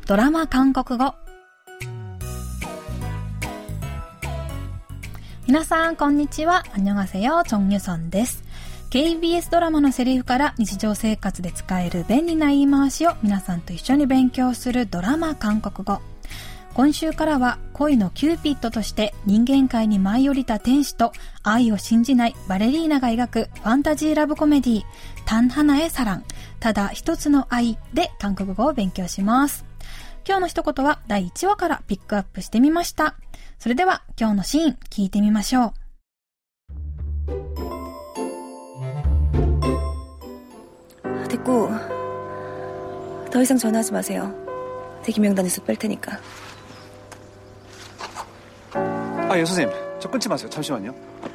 ドラマ韓国語。皆さんこんにちは。안녕하세요。정유선です。KBS ドラマのセリフから日常生活で使える便利な言い回しを皆さんと一緒に勉強するドラマ韓国語。今週からは恋のキューピッドとして人間界に舞い降りた天使と愛を信じないバレリーナが描くファンタジーラブコメディ단 하나의 사랑、ただ一つの愛で韓国語を勉強します。今日の一言は第1話からピックアップしてみました。それでは今日のシーン聞いてみましょう。 됐고 더 이상 전화하지 마세요. 대기 명단에서 뺄 테니까. 예, 선생님. 저 끊지 마세요. 잠시만요.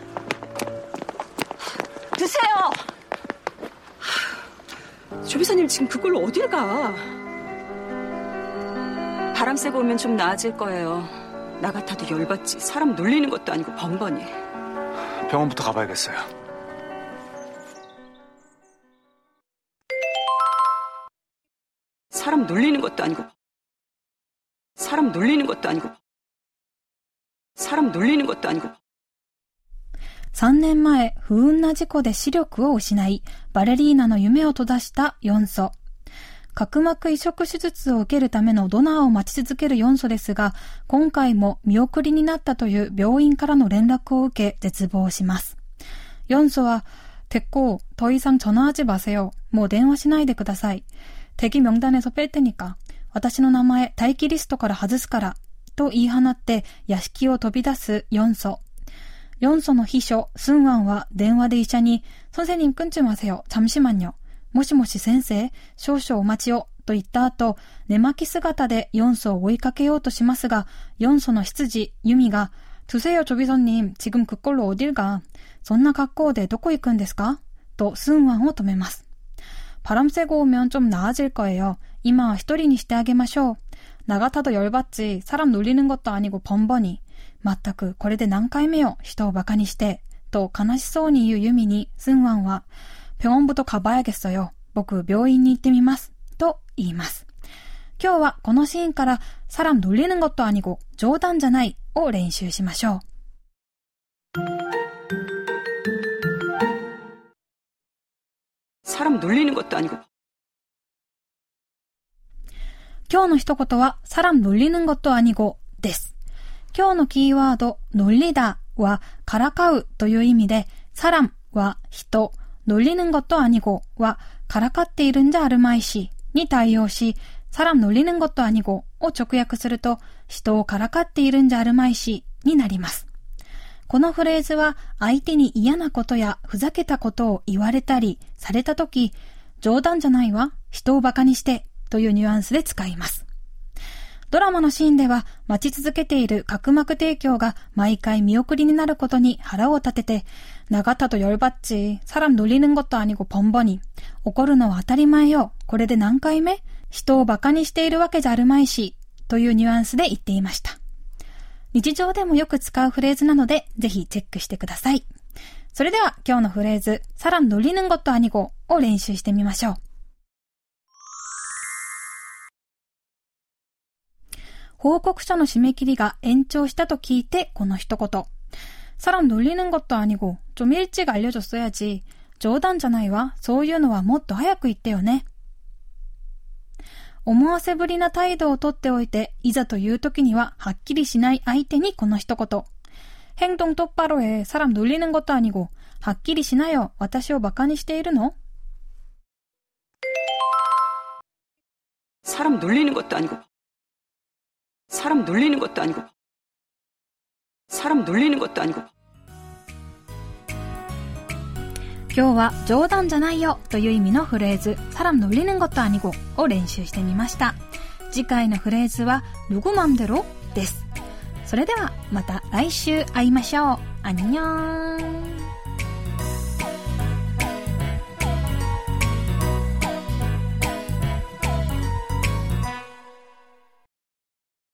드세요! 조비서님 지금 그걸로 어딜 가? 바람 쐬고 오면 좀 나아질 거예요. 나 같아도 열받지. 사람 놀리는 것도 아니고 번번이. 병원부터 가봐야겠어요. 사람 놀리는 것도 아니고 사람 놀리는 것도 아니고 3年前、不運な事故で視力を失い、バレリーナの夢を閉ざしたヨンソ。角膜移植手術を受けるためのドナーを待ち続けるヨンソですが、今回も見送りになったという病院からの連絡を受け絶望します。ヨンソは、됐고、더 이상 전화하지 마세요。もう電話しないでください。대기 명단에서 뺄 테니까。私の名前、待機リストから外すから。と言い放って屋敷を飛び出すヨンソ。ヨンソの秘書、スンワンは電話で医者に、선생님 끊지 마세요。잠시만요。もしもし先生、少々お待ちを。と言った後、寝巻き姿でヨンソを追いかけようとしますが、ヨンソの執事、ユミが、두세요 조비서님、지금 그걸로 어딜 가。そんな格好でどこ行くんですかとスンワンを止めます。바람 쐬고 오면 좀 나아질 거예요。今は一人にしてあげましょう。나 같아도 열받지. 사람 놀리는 것도 아니고 번번이. まったくこれで何回目よ。人をバカにして。と悲しそうに言うユミにスンワンは병원부터 가봐야겠어요。僕病院に行ってみます。と言います。今日はこのシーンから사람 놀리는 것도 아니고冗談じゃないを練習しましょう。 사람 놀리는 것도 아니고 今日の一言は사람 놀리는 것도 아니고です。今日のキーワード놀리다はからかうという意味で、사람は人、놀리는 것도 아니고はからかっているんじゃあるまいしに対応し、사람 놀리는 것도 아니고を直訳すると、人をからかっているんじゃあるまいしになります。このフレーズは相手に嫌なことやふざけたことを言われたりされたとき、冗談じゃないわ、人をバカにしてというニュアンスで使います。ドラマのシーンでは待ち続けている角膜提供が毎回見送りになることに腹を立てて、나 같아도 열받지。사람 놀리는 것도 아니고 번번이。怒るのは当たり前よ。これで何回目？人をバカにしているわけじゃあるまいし。というニュアンスで言っていました。日常でもよく使うフレーズなので、ぜひチェックしてください。それでは今日のフレーズ、사람 놀리는 것도 아니고を練習してみましょう。報告書の締め切りが延長したと聞いてこの一言。사람 놀리는 것도 아니고 좀 일찍 알려줬어야지。冗談じゃないわ。そういうのはもっと早く言ってよね。思わせぶりな態度をとっておいて、いざという時にははっきりしない相手にこの一言。행동 똑바로 해。사람 놀리는 것도 아니고。はっきりしなよ。私をバカにしているの？ 사람 놀리는 것도 아니고 사람 놀리는 것도 아니고 사람 놀리는 것도 아니고。 今日は冗談じゃないよという意味のフレーズ사람 놀리는 것도 아니고を練習してみました。次回のフレーズは누구 맘대로です。それではまた来週会いましょう。안녕。